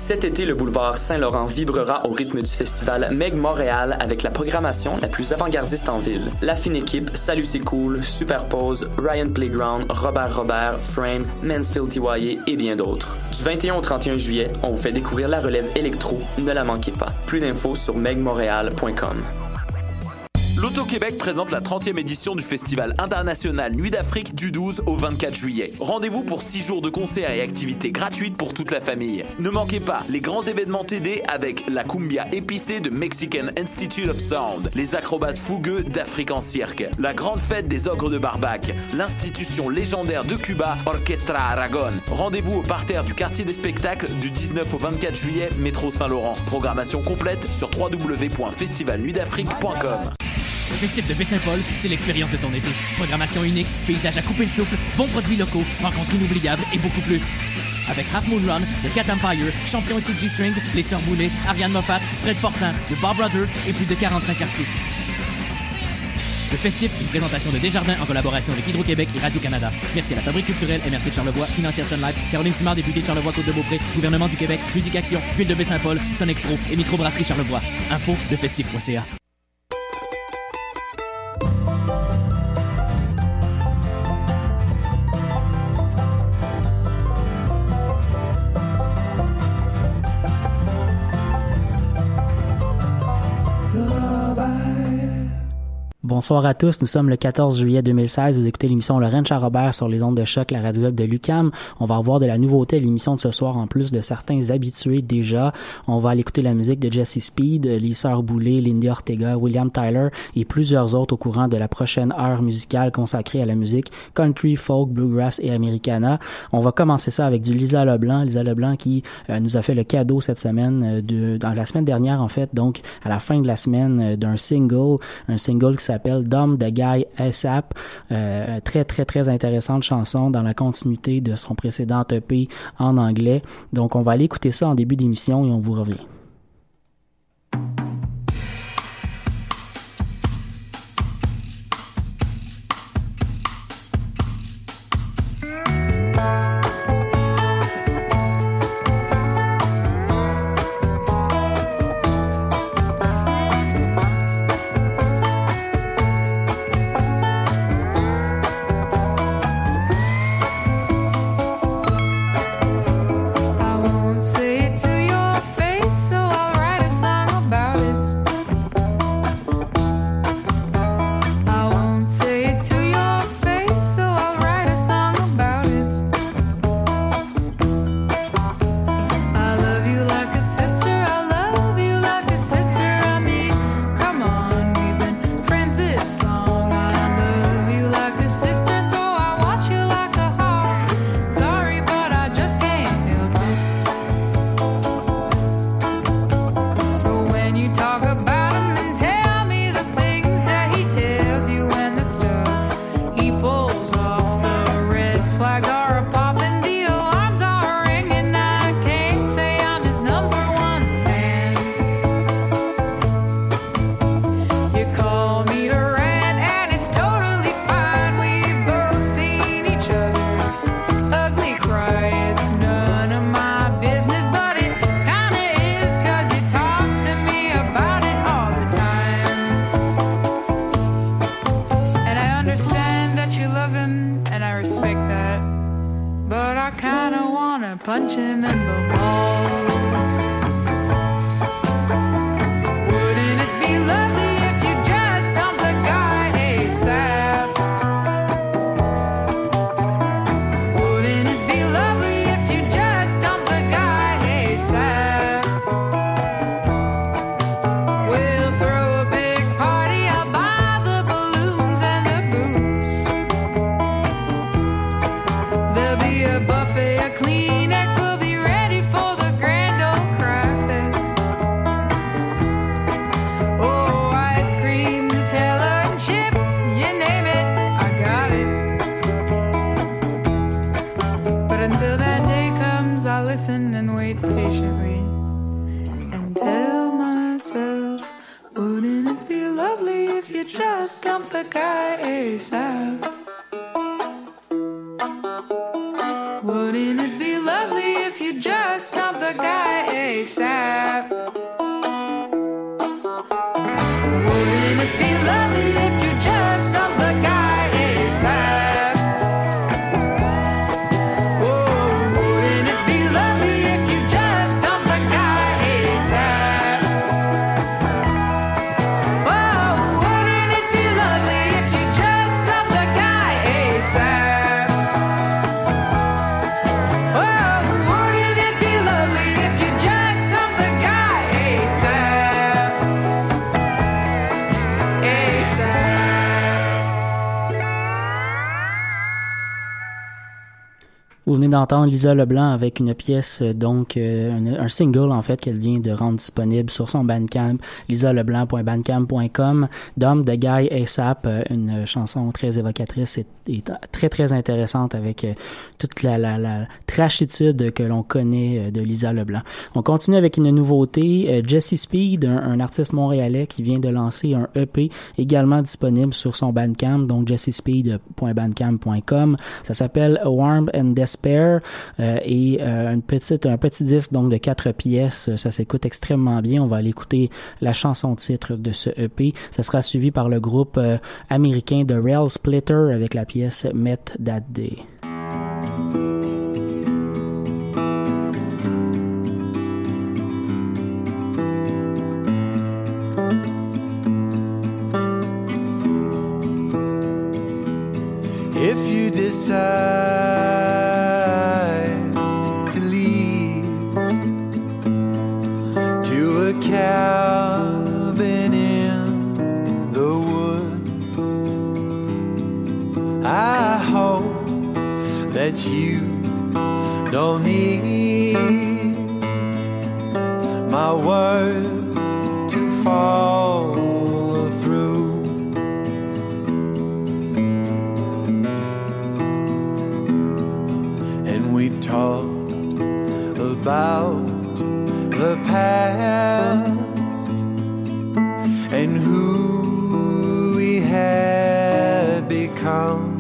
Cet été, le boulevard Saint-Laurent vibrera au rythme du festival Meg Montréal avec la programmation la plus avant-gardiste en ville. La fine équipe, Salut c'est cool, Superpose, Ryan Playground, Robert, Frame, Mansfield TYA et bien d'autres. Du 21 au 31 juillet, on vous fait découvrir la relève électro, ne la manquez pas. Plus d'infos sur megmontréal.com. L'Auto-Québec présente la 30e édition du Festival international Nuit d'Afrique du 12 au 24 juillet. Rendez-vous pour 6 jours de concerts et activités gratuites pour toute la famille. Ne manquez pas les grands événements TD avec la cumbia épicée de Mexican Institute of Sound, les acrobates fougueux d'Afrique en cirque, la grande fête des ogres de Barbac, l'institution légendaire de Cuba, Orchestra Aragon. Rendez-vous au parterre du quartier des spectacles du 19 au 24 juillet, métro Saint-Laurent. Programmation complète sur www.festivalnuitdafrique.com. Le Festif de Baie-Saint-Paul, c'est l'expérience de ton été. Programmation unique, paysages à couper le souffle, bons produits locaux, rencontres inoubliables et beaucoup plus. Avec Half Moon Run, The Cat Empire, Champion et CG Strings, Les Sœurs Boulay, Ariane Moffat, Fred Fortin, The Bob Brothers et plus de 45 artistes. Le Festif, une présentation de Desjardins en collaboration avec Hydro-Québec et Radio-Canada. Merci à la Fabrique culturelle MRC de Charlevoix, Financière Sun Life, Caroline Simard, députée de Charlevoix-Côte-de-Beaupré, Gouvernement du Québec, Musique Action, Ville de Baie-Saint-Paul, Sonic Pro et Microbrasserie Charlevoix. Info, lefestif.ca. Bonsoir à tous, nous sommes le 14 juillet 2016, vous écoutez l'émission Lorraine Charrobert sur les ondes de choc, la radio web de l'UQAM. On va avoir de la nouveauté à l'émission de ce soir en plus de certains habitués déjà. On va aller écouter la musique de Jesse Speed, les Sœurs Boulay, Lindy Ortega, William Tyler et plusieurs autres au courant de la prochaine heure musicale consacrée à la musique country, folk, bluegrass et americana. On va commencer ça avec du Lisa Leblanc qui nous a fait le cadeau cette semaine, dans la semaine dernière en fait, donc à la fin de la semaine d'un single qui s'appelle Dumb the Guy ASAP. Très très très intéressante chanson dans la continuité de son précédent EP en anglais. Donc on va aller écouter ça en début d'émission et on vous revient. punch him in the balls. Wouldn't it be lovely if you just dumped the guy ASAP? Wouldn't it be lovely if you just dumped the guy ASAP? We'll throw a big party, I'll buy the balloons and the booze. There'll be a buffet of Kleenex, we'll be ready for the grand old craft fest. Oh, ice cream, Nutella and chips, you name it, I got it. But until that day comes, I'll listen and wait patiently and tell myself, wouldn't it be lovely if you just dumped the guy ASAP? Wouldn't it be lovely if you just just dump the guy ASAP? Wouldn't it be lovely if you just dump the guy ASAP? Oh, wouldn't it be lovely if you just dump the guy ASAP? Oh, wouldn't it be lovely if you just dump the guy ASAP? Oh, wouldn't it be lovely if you just dump the guy ASAP? ASAP. Vous venez d'entendre Lisa Leblanc avec une pièce, un single en fait qu'elle vient de rendre disponible sur son Bandcamp, lisaleblanc.bandcamp.com, Dump the Guy ASAP, une chanson très évocatrice et très très intéressante avec toute la trashitude que l'on connaît de Lisa Leblanc. On continue avec une nouveauté, Jesse Speed, un artiste montréalais qui vient de lancer un EP également disponible sur son Bandcamp, donc jessespeed.bandcamp.com. Ça s'appelle Warm and Despair et un petit disque donc de 4 pièces. Ça s'écoute extrêmement bien. On va aller écouter la chanson titre de ce EP. Ça sera suivi par le groupe américain de Rail Splitter avec la pièce Met That Day. If you decide to leave to a cabin in the woods, I hope that you don't need my word to follow through. We talked about the past and who we had become.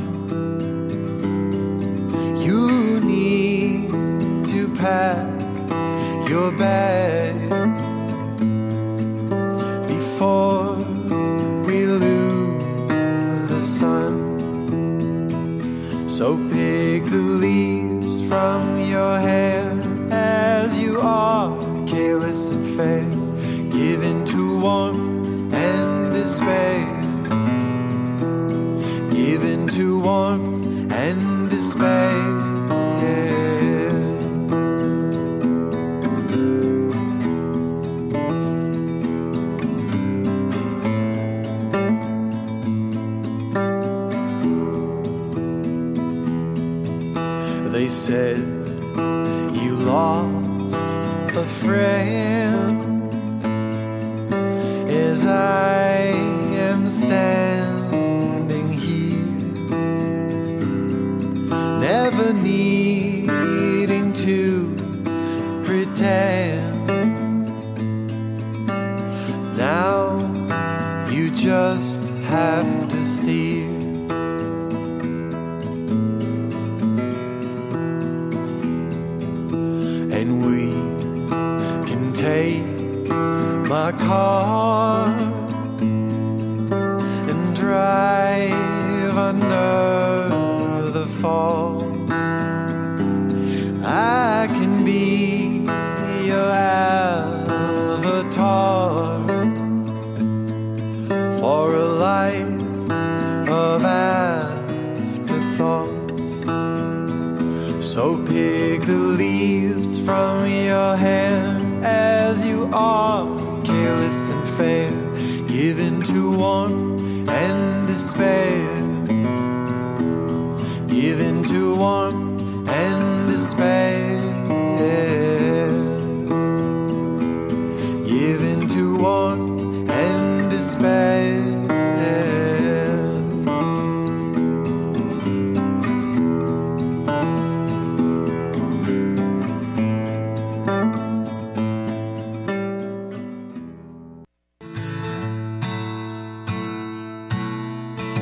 You need to pack your bag before we lose the sun. So pick the leaves from your hair as you are, careless and fair, given to warmth and despair, given to warmth and despair. They said you lost a friend as I am standing here, never needing to pretend. Now you just have to steer. And we can take my car and drive under the fall. I can be your avatar for a life of afterthoughts. So pick the leaves from your hair as you are, careless and fair, given to warmth and despair, given to warmth and despair, given to warmth and despair.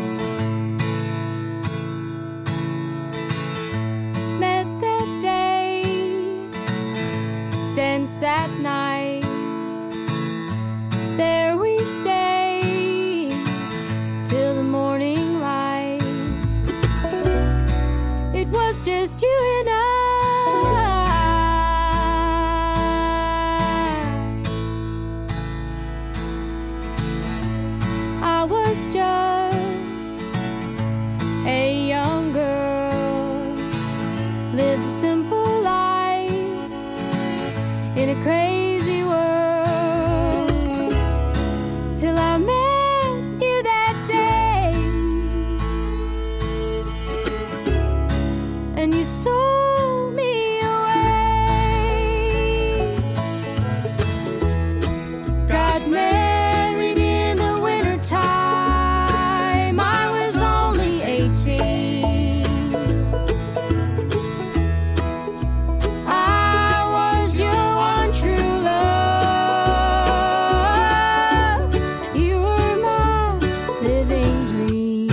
Met that day house that night. There we stayed till the morning light. It was just you and I was just a young girl, lived a simple life in a crazy world, till I met you that day, and you stole me away. Got married in the wintertime, I was only 18. I was your one true love. You were my living dream.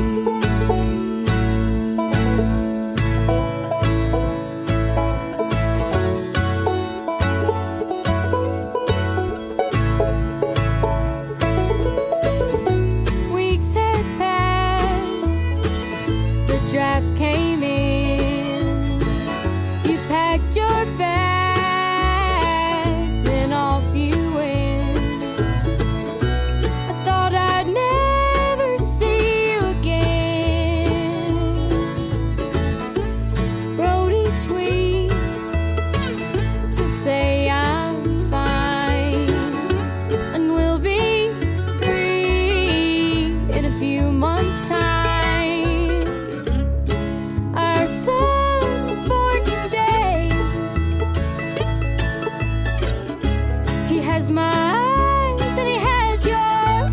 Weeks had passed, the draft came in. You packed your bags, then off you went. I thought I'd never see you again. Wrote each week to say I'm fine and we'll be free in a few months' time. Our son was born today. He has my eyes and he has your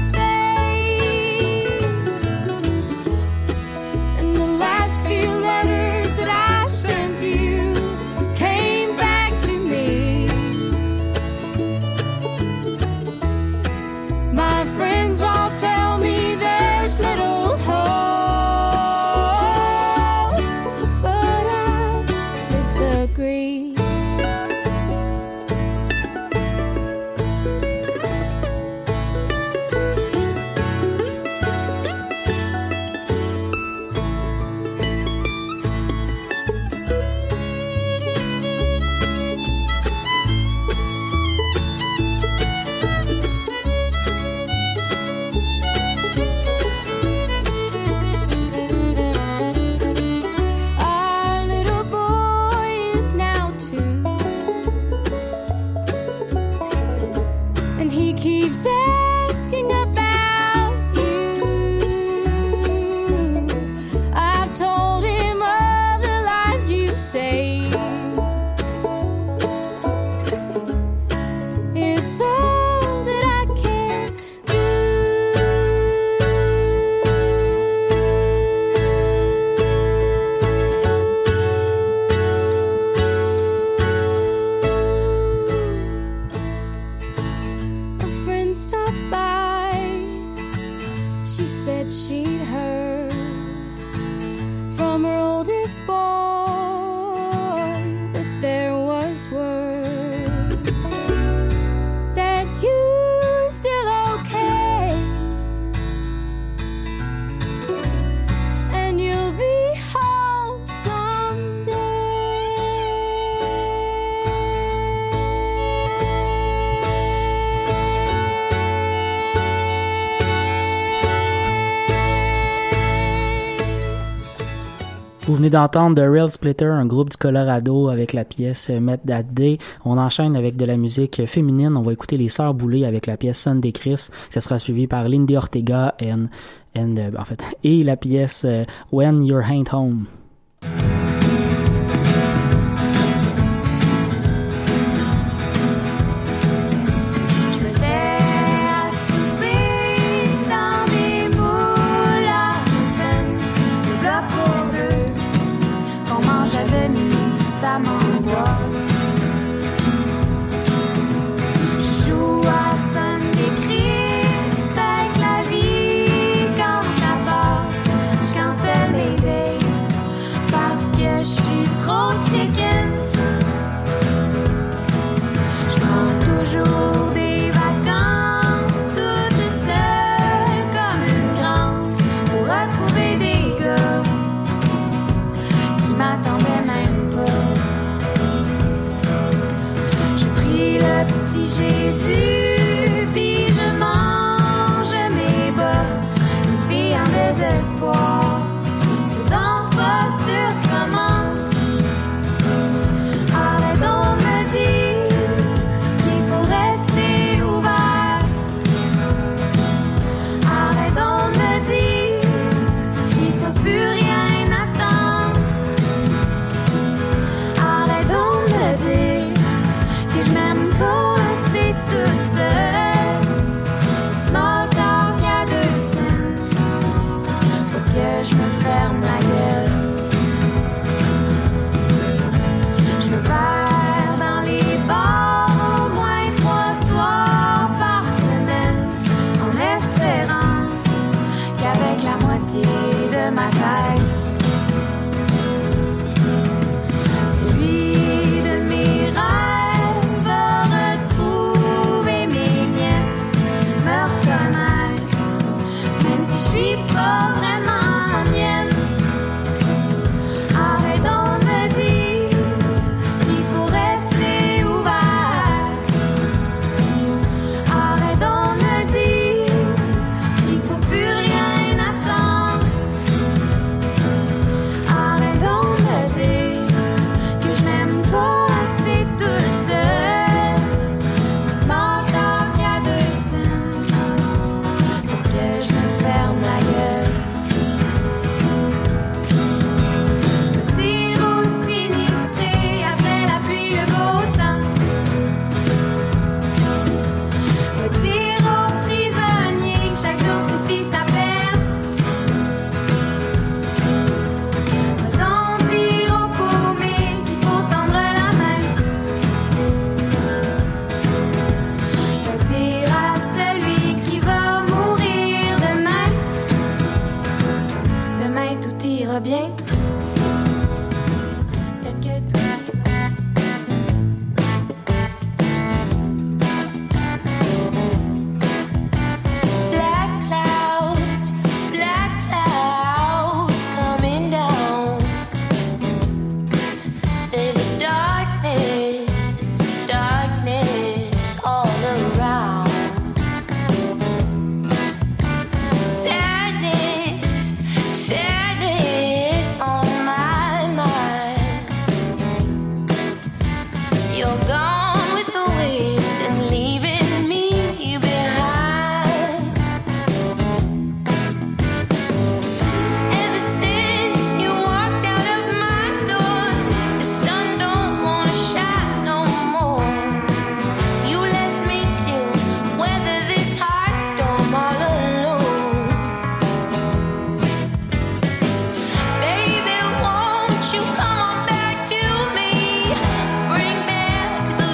face. And the last few letters that I sent you came back to me. My friends all tell me there's little hope, but I disagree. Our little boy is now 2, and he keeps asking about you. I've told him of the lives you saved. It's all that I can do. A friend stopped by. She said she'd heard from her oldest boy that there was word that you're still okay, and you'll be home Vous venez d'entendre The Real Splitter, un groupe du Colorado, avec la pièce Met That Day. On enchaîne avec de la musique féminine. On va écouter les Sœurs Boulay avec la pièce Sunday Chris. Ça sera suivi par Lindy Ortega et la pièce When You Ain't Home. Je me fais à souper dans des boules à muffin, le plat pour deux qu'on mange à demi, ça m'angoisse. Je joue à Sunday Chris avec la vie quand ça passe. Je cancelle mes dates parce que je suis trop chicken. Jésus, puis je mange mes bas, une fille en désespoir, c'est donc pas sûr comment. Arrête donc de me dire qu'il faut rester ouvert. Arrête donc de me dire qu'il faut plus rien attendre. Arrête donc de me dire que je m'aime pas assez toute seule. Small talk à 2 cents, faut que je me ferme la gueule. Je me perds dans les bars au moins 3 soirs par semaine, en espérant qu'avec la moitié de ma tête, celui de mes rêves va retrouver mes miettes, me reconnaître, même si je suis pas vraiment mienne. Arrête donc de me dire qu'il faut rester ouvert. Arrête donc de me dire qu'il faut plus rien attendre. Arrête donc de me dire que je m'aime pas assez toute seule. Small talk à 2 cents, pour que je me ferme la gueule. Tire au sinistré après la pluie, le beau temps. Dire aux prisonniers que chaque jour suffit sa peine. Autant dire aux paumés qu'il faut tendre la main. Dire à celui qui va mourir demain, demain tout ira bien. Peut-être que tout ira. Black clouds coming down. There's a darkness all around. Sadness on my mind. You're gone with the wind and leaving me behind. Ever since you walked out of my door, the sun don't wanna shine no more. You left me to weather this hard storm all alone. Baby, won't you come on back to me? Bring back the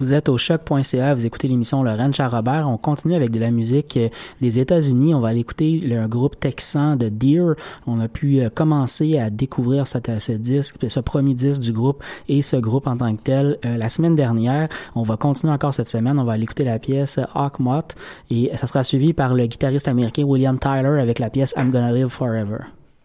Vous êtes au choc.ca, vous écoutez l'émission Le Ranch à Robert. On continue avec de la musique des États-Unis. On va aller écouter un groupe texan de Deer. On a pu commencer à découvrir ce disque, ce premier disque du groupe et ce groupe en tant que tel la semaine dernière. On va continuer encore cette semaine. On va aller écouter la pièce Hawkmoth et ça sera suivi par le guitariste américain William Tyler avec la pièce I'm Gonna Live Forever.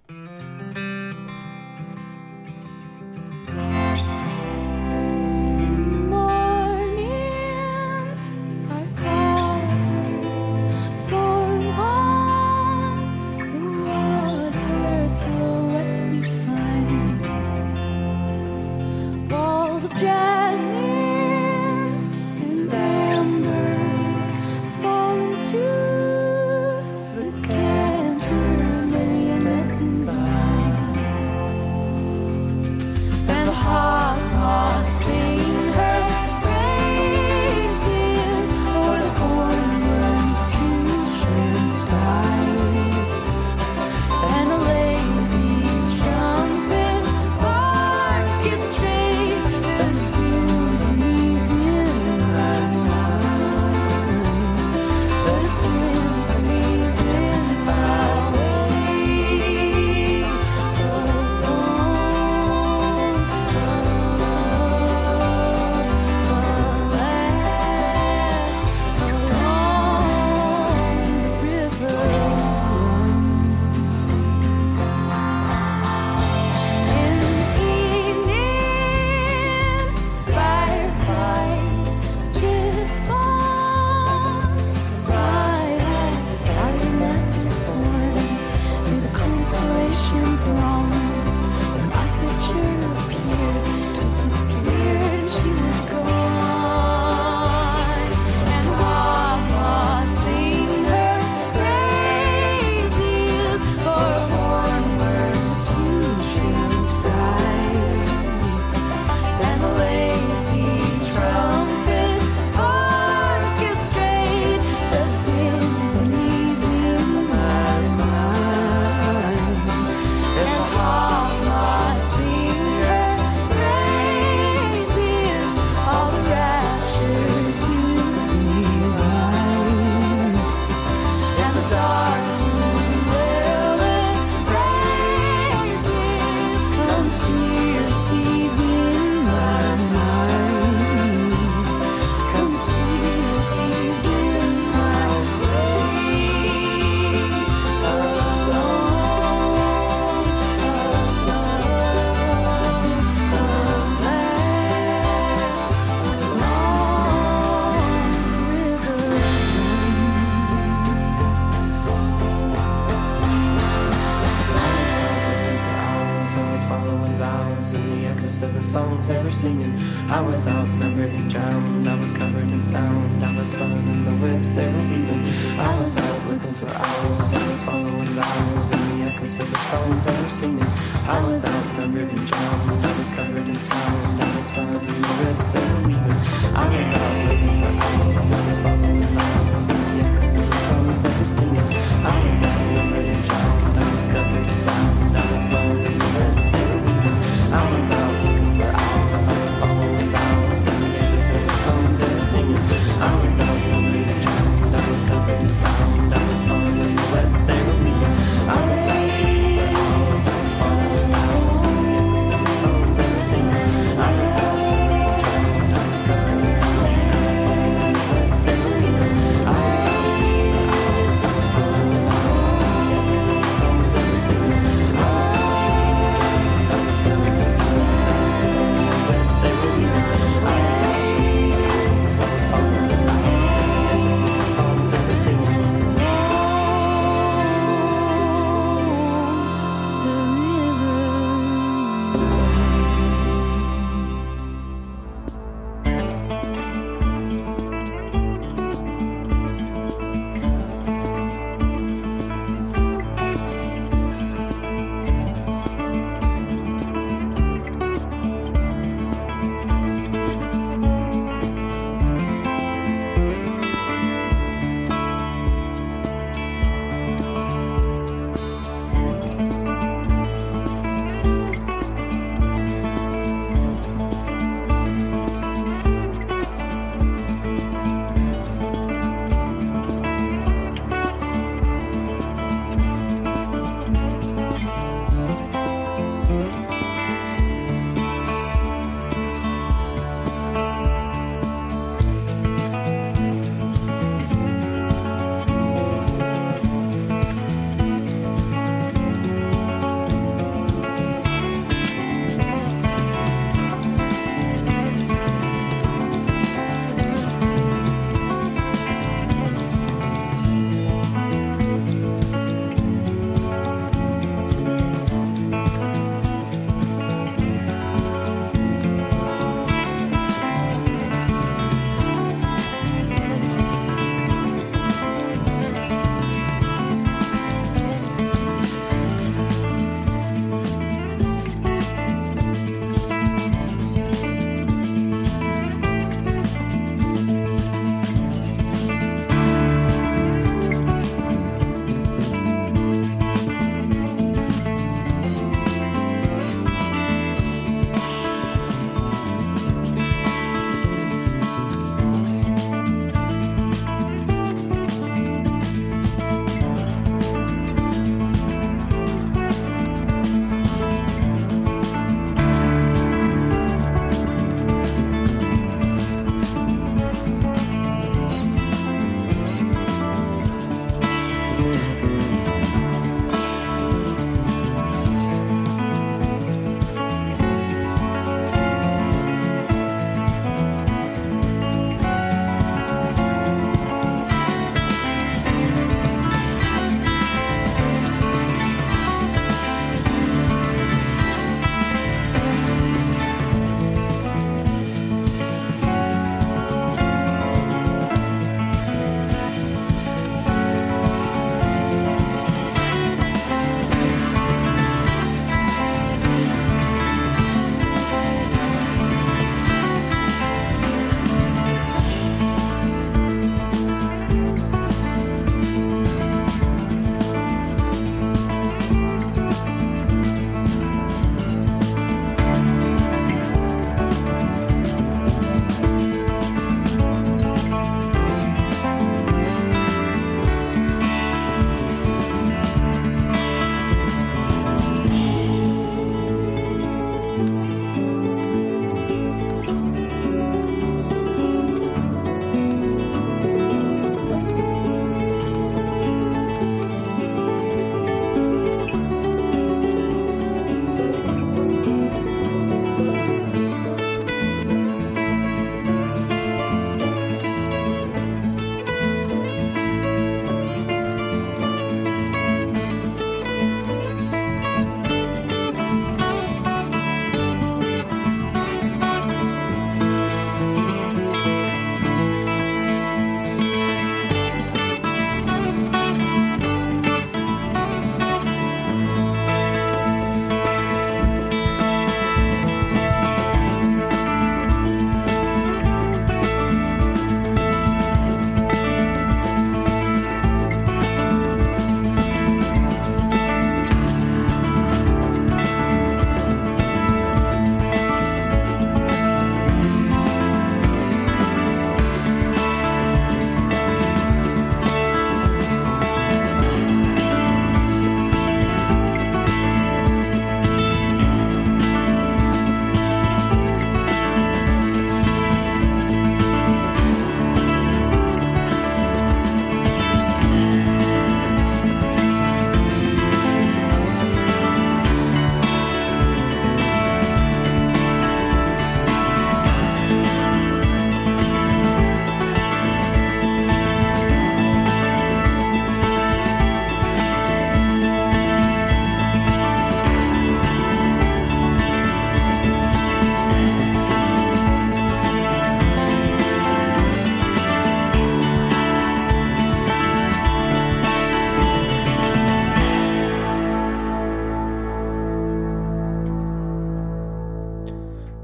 songs they were singing. I was outnumbered and drowned. I was covered in sound. I was spun in the whips they were weaving. I was out looking for owls. I was following the owls and the echoes of the songs they were singing. I was outnumbered and drowned. I was covered in sound. I was spun in the whips they were weaving. I was out looking for owls. I was following the owls and the echoes of the songs they were singing. I was outnumbered and drowned. I was covered in sound. I was spun in the whips they were weaving. I was out looking for owls. I was following the owls and the echoes of the songs they were singing. I was outnumbered and drowned. I was covered in sound. I was spun in the webs they were weaving. I was out looking for owls. I was following the owls and the echoes of the songs they were singing. I was out looking and drowned. I was covered in sound.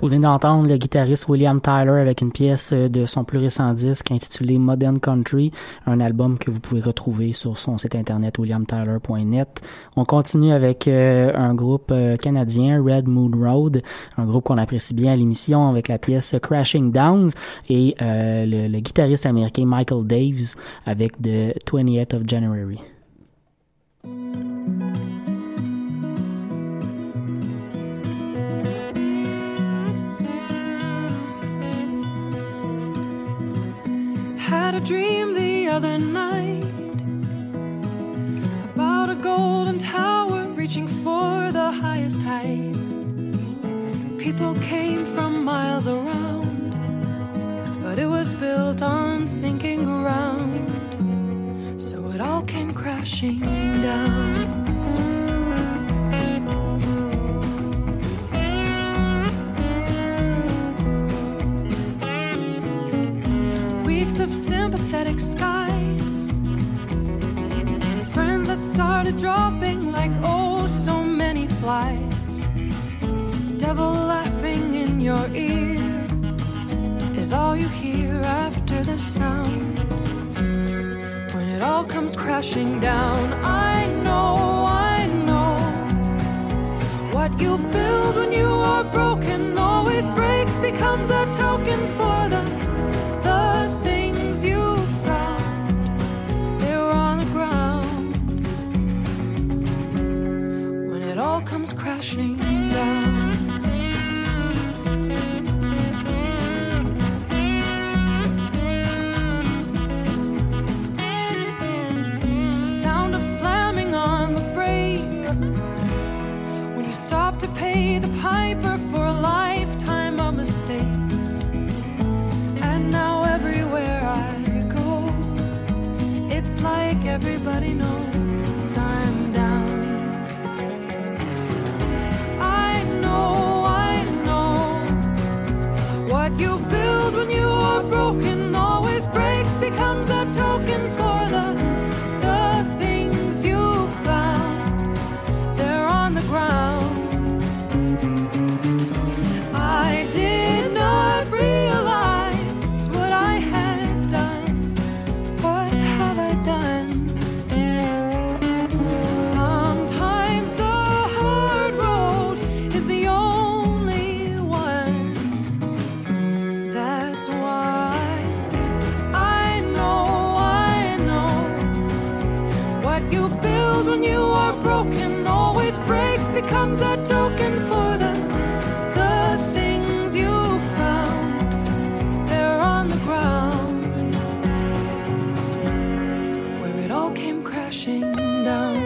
Vous venez d'entendre le guitariste William Tyler avec une pièce de son plus récent disque intitulé Modern Country, un album que vous pouvez retrouver sur son site internet williamtyler.net. On continue avec un groupe canadien, Red Moon Road, un groupe qu'on apprécie bien à l'émission avec la pièce Crashing Downs et le guitariste américain Michael Daves avec The 20th of January. Had a dream the other night about a golden tower reaching for the highest height. People came from miles around, but it was built on sinking ground, so it all came crashing down. Of sympathetic skies, friends that started dropping like oh so many flies. Devil laughing in your ear is all you hear after the sound. When it all comes crashing down, I know what you build when you are broken always breaks, becomes a token for the things you found. They were on the ground when it all comes crashing down. The sound of slamming on the brakes when you stop to pay the piper for a lifetime of mistakes. Now everywhere I go, it's like everybody knows I'm down. I know what you build when you are broken always breaks, becomes a token for the things you found. They're on the ground. I did not realize becomes a token for the things you found. They're on the ground where it all came crashing down.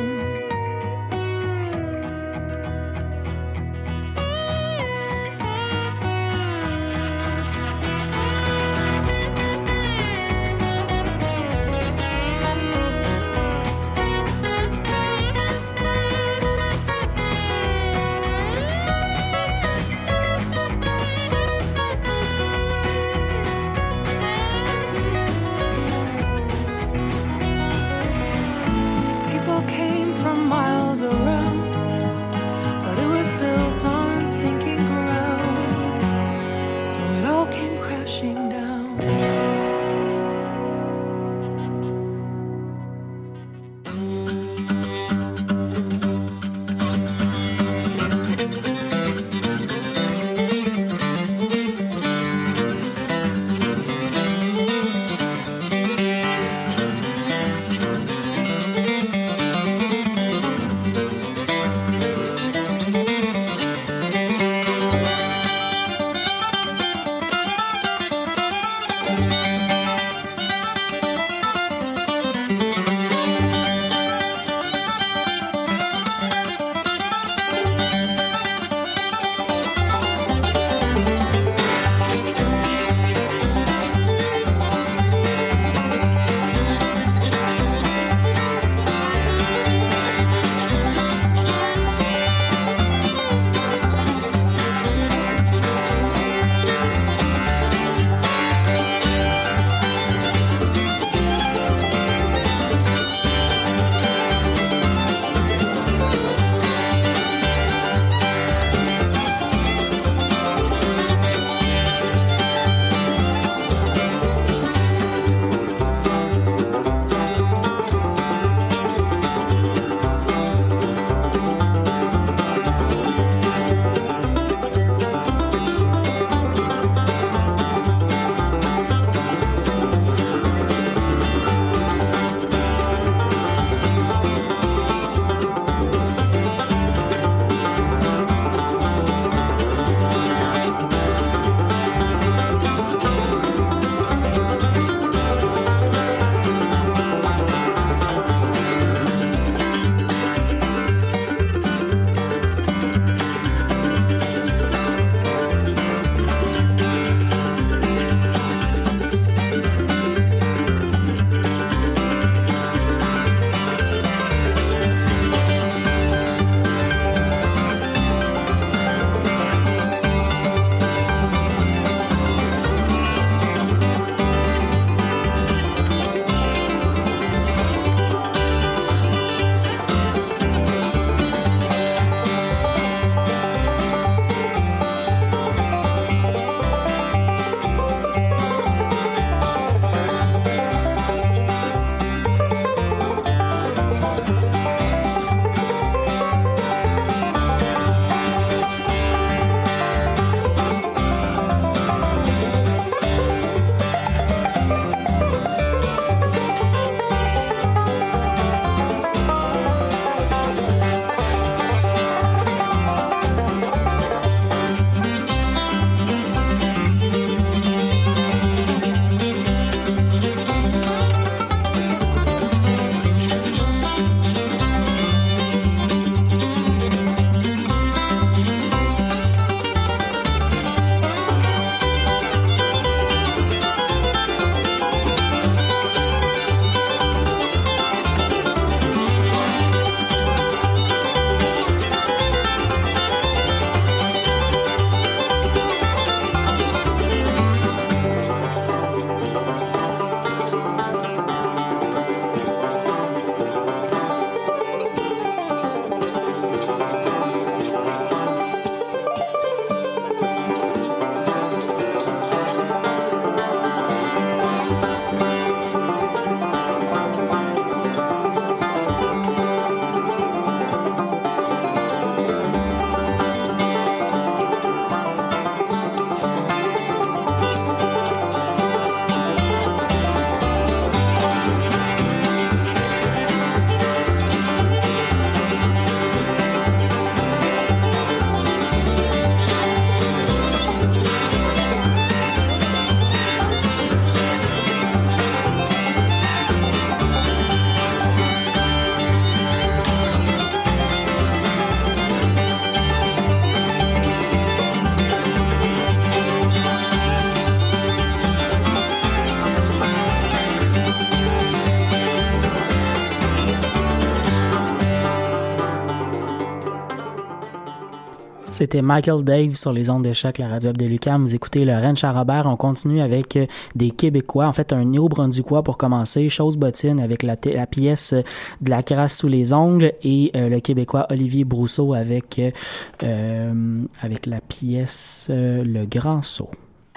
C'était Michael Dave sur les ondes de choc, la radio web de l'UQAM. Vous écoutez le Ranch à Robert. On continue avec des Québécois. En fait, un Néo-Brunswickois pour commencer. Chose bottine avec la pièce de la crasse sous les ongles et le Québécois Olivier Brousseau avec la pièce Le Grand Saut.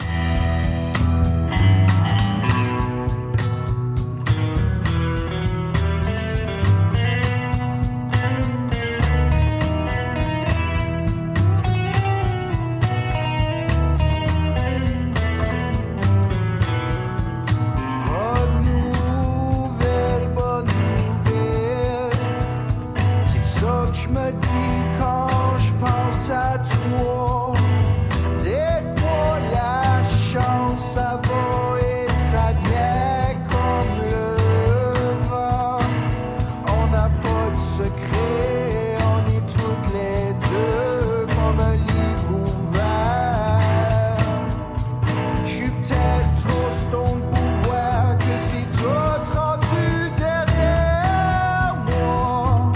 Je me dis quand je pense à toi, des fois la chance ça va et ça vient comme le vent. On n'a pas de secret, on est toutes les deux comme un livre ouvert. Je suis peut-être trop stone pour voir que c'est tout rendu derrière moi.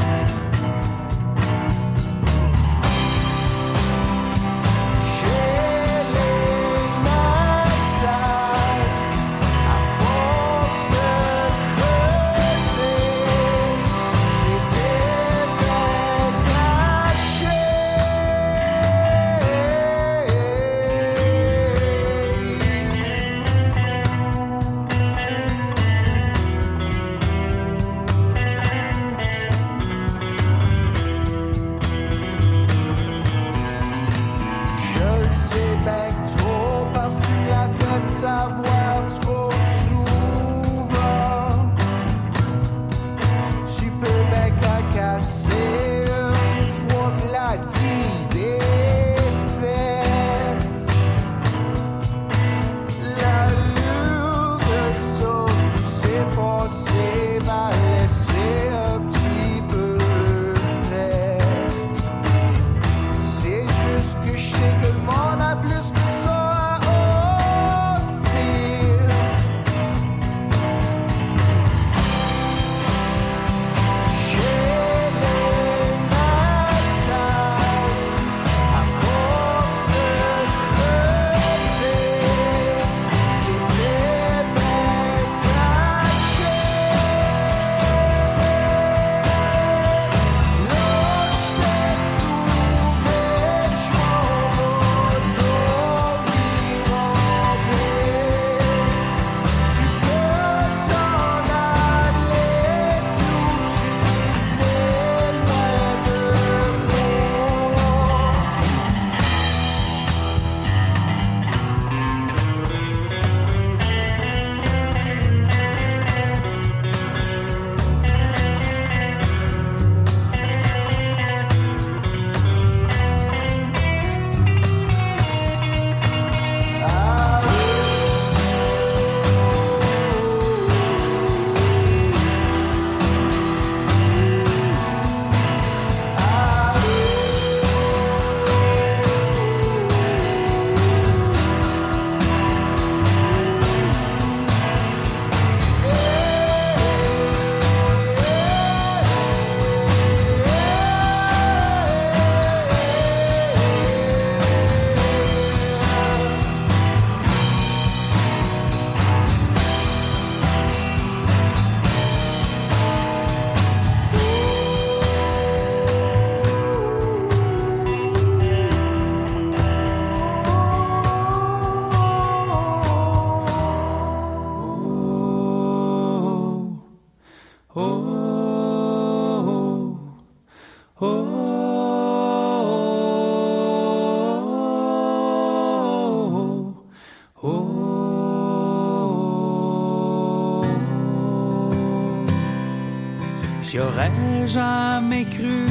Savoir trop souvent, tu peux bien casser une fois que la deal est faite. L'allure de ça qui s'est passé m'a laissé un petit peu frette. C'est juste que je sais que le monde a plus que ça. J'aurais jamais cru,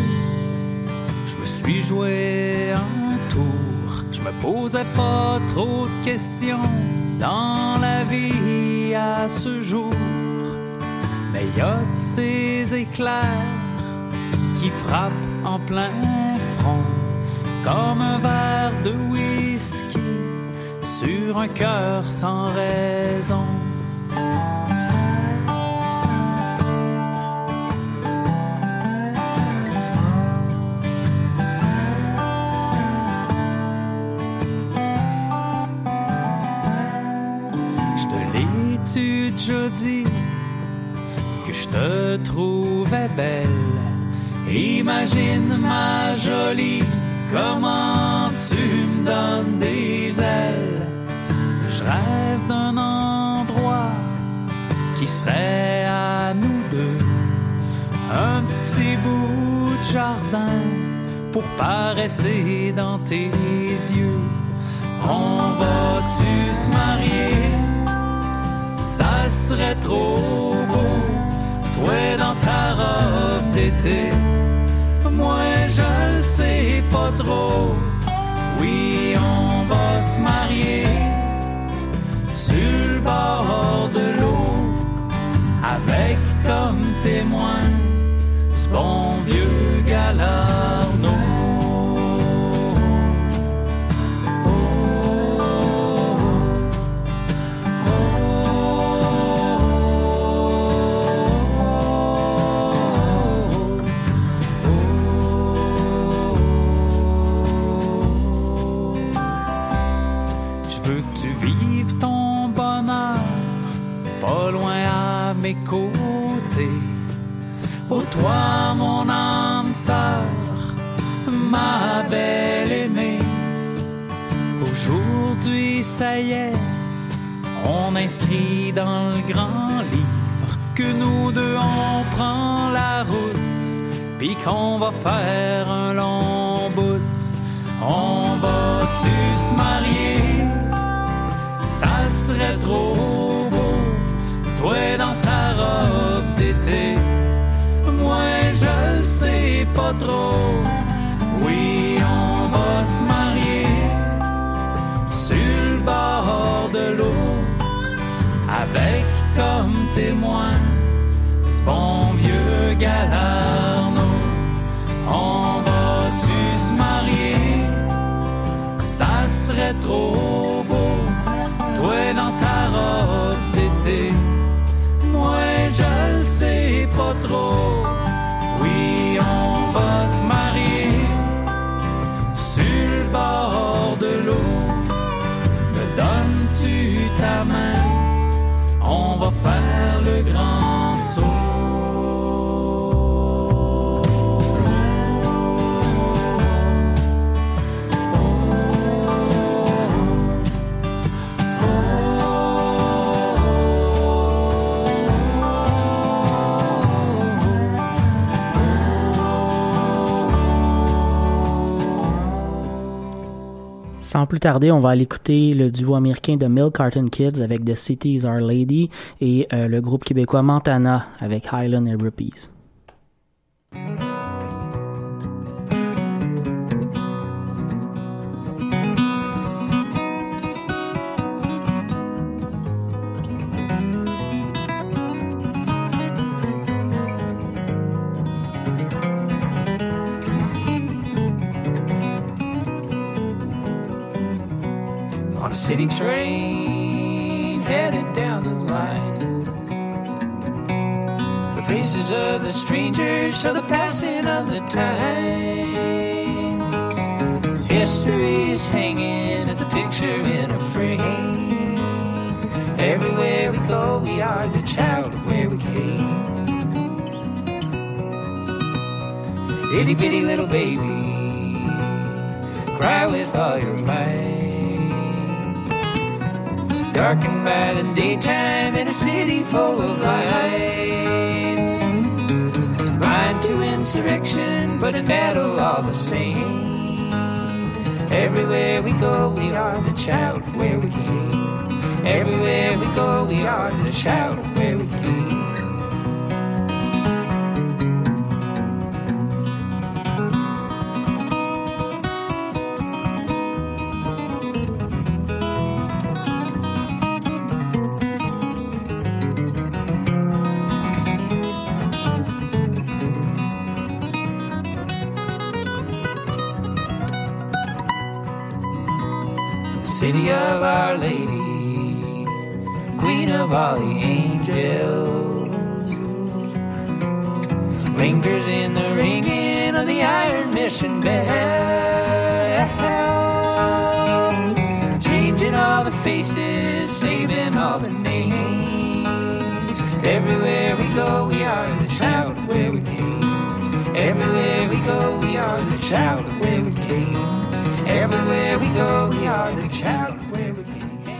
je me suis joué un tour. Je me posais pas trop de questions dans la vie à ce jour. Mais y a de ces éclairs qui frappent en plein front, comme un verre de whisky sur un cœur sans raison. m'as-tu déjà dit que je te trouvais belle? Imagine ma jolie, comment tu me donnes des ailes. Je rêve d'un endroit qui serait à nous deux, un petit bout de jardin pour paresser dans tes yeux. On va-tu se marier? Ça serait trop beau, toi dans ta robe d'été, moi je le sais pas trop. Oui, on va se marier sur le bord de l'eau, avec comme témoin ce bon vieux Galarno. Mes côtés, ô toi mon âme sœur, ma belle aimée. Aujourd'hui ça y est, on inscrit dans le grand livre que nous deux on prend la route, puis qu'on va faire un long bout. On va-tu se marier? Ça serait trop beau, toi dans ta robe d'été, moi je le sais pas trop. Oui, on va se marier sur le bord de l'eau, avec comme témoin ce bon vieux Galarno. On va-tu se marier? Ça serait trop beau, toi dans ta robe d'été, moi je le sais pas trop. Oui, on va se marier sur le bord de l'eau. Me donnes-tu ta main? On va faire le grand saut. Sans plus tarder, on va aller écouter le duo américain de Milk Carton Kids avec The City is Our Lady et le groupe québécois Montana avec Highland and Rupees. City train headed down the line. The faces of the strangers show the passing of the time. History is hanging as a picture in a frame. Everywhere we go, we are the child of where we came. Itty bitty little baby, cry with all your might. Darkened by the daytime in a city full of lights. Blind to insurrection, but in battle all the same. Everywhere we go, we are the child of where we came. Everywhere we go, we are the child of where we came. City of Our Lady, Queen of all the angels, lingers in the ringing of the Iron Mission bell, changing all the faces, saving all the names. Everywhere we go, we are the child of where we came. Everywhere we go, we are the child of where we came. Everywhere we go, we are the child of where we came.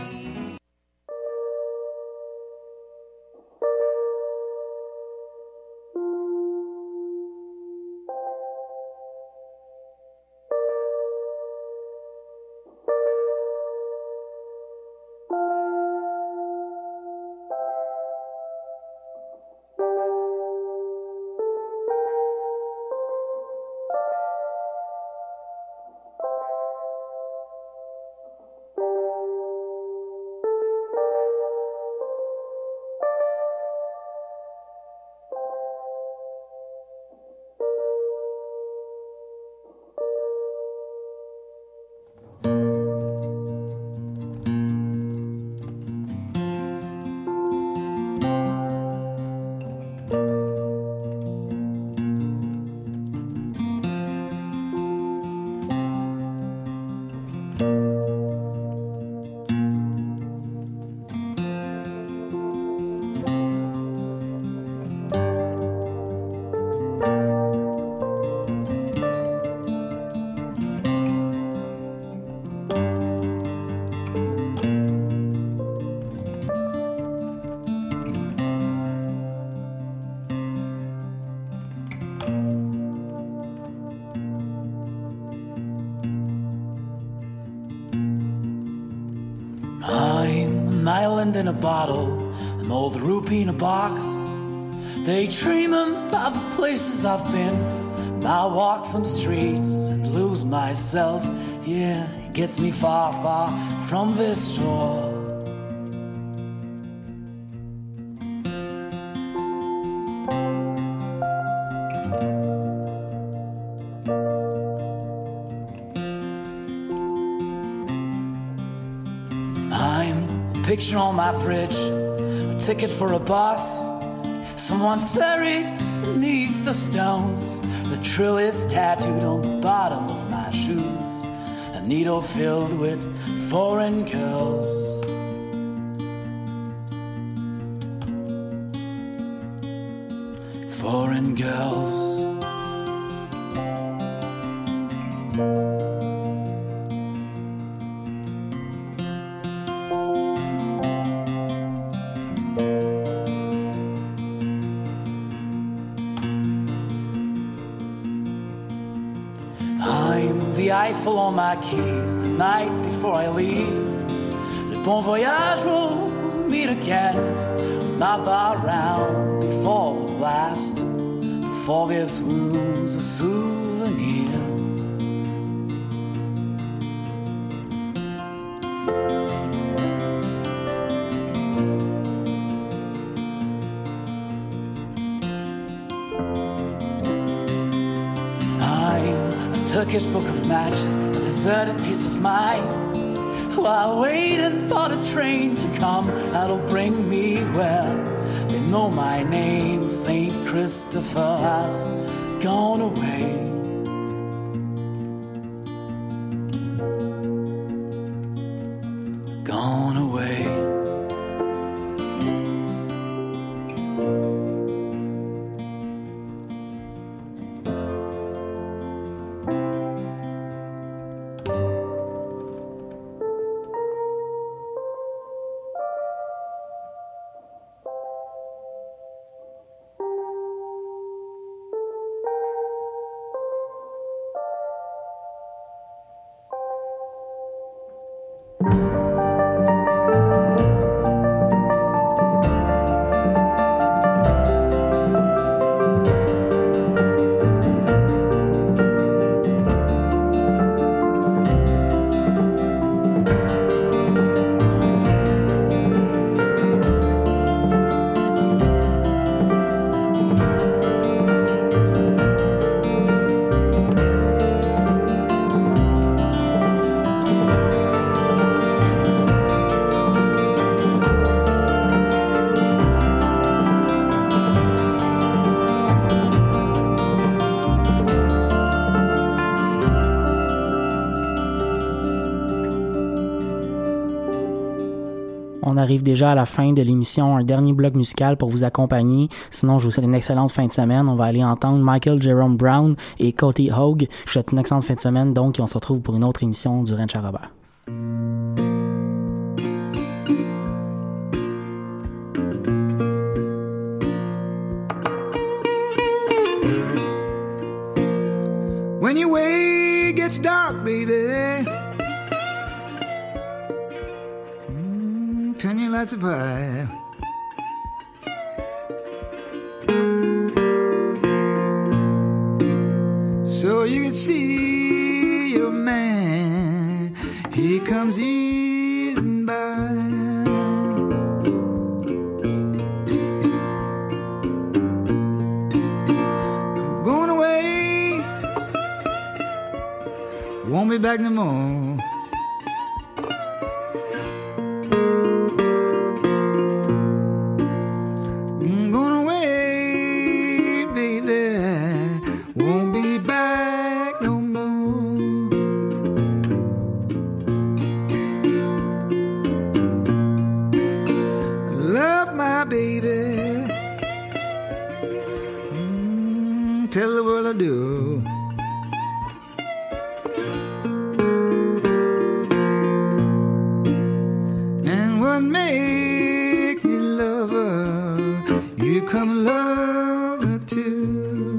I'm an island in a bottle, an old rupee in a box, daydreaming about the places I've been. I walk some streets and lose myself. Yeah, it gets me far, far from this shore. Picture on my fridge, a ticket for a bus. Someone's buried beneath the stones. The trill is tattooed on the bottom of my shoes. A needle filled with foreign girls. Foreign girls. Eiffel on my keys tonight before I leave. Le bon voyage will meet again. Not far round before the blast. Before this wound's a souvenir. Turkish book of matches, a deserted piece of mind. While waiting for the train to come, that'll bring me where they know my name. Saint Christopher has gone away. Gone away. On arrive déjà à la fin de l'émission, un dernier bloc musical pour vous accompagner. Sinon, je vous souhaite une excellente fin de semaine. On va aller entendre Michael Jerome Brown et Cody Hogue. Je vous souhaite une excellente fin de semaine, donc, et on se retrouve pour une autre émission du Ranch à Robert. When your way gets dark, baby, turn your lights up high. So you can see your man, he comes easing by. I'm going away, won't be back no more. I'm going away, baby, won't be back no more. I love my baby, tell the world I do. And what make me love her, you come love her too.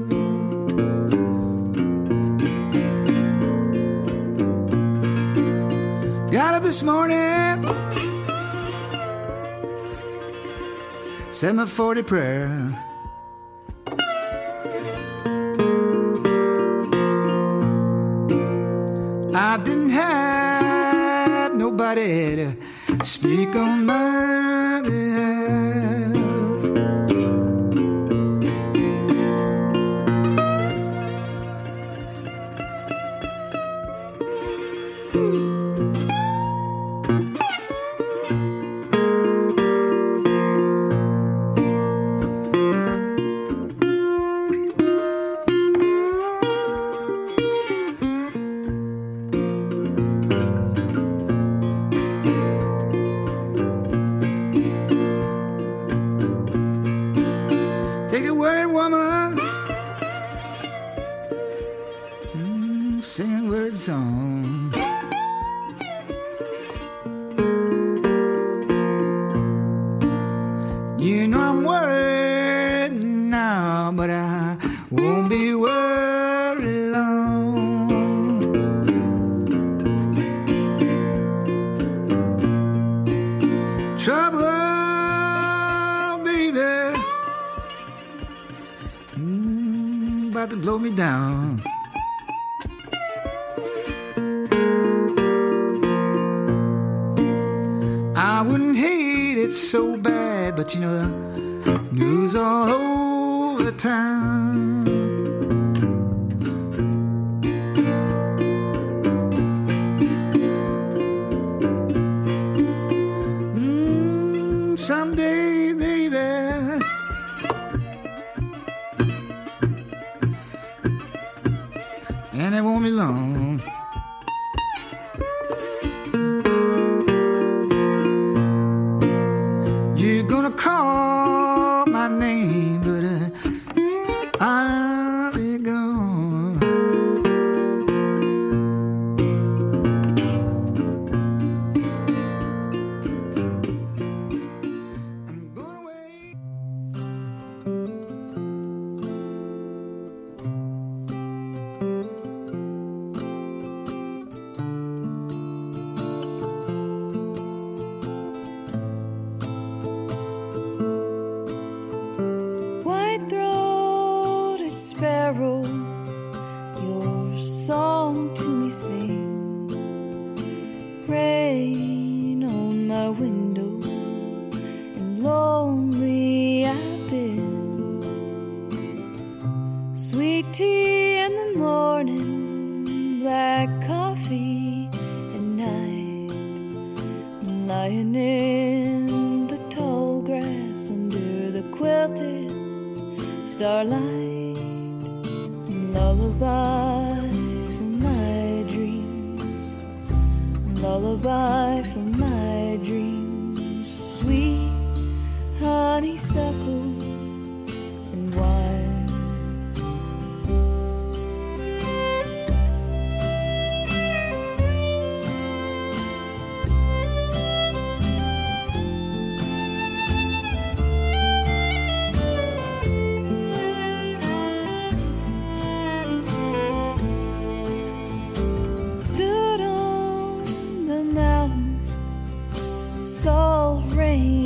Got up this morning, said my 40 prayer. I didn't have nobody to speak on my behalf. Take a word, woman, sing a word song. You know I'm worried now, but I won't be worried long. Trouble, baby, about to blow me down. I wouldn't hate it so bad, but you know the news all over town. Someday, baby, and it won't be long. You're gonna call my name, but I'll be gone. I'm going away. White-throated sparrow, your song to me sing. Rain on my window, and lonely I've been. Sweet tea in the morning, black coffee at night. Lying in the tall grass under the quilted starlight, lullaby for my dreams, lullaby for my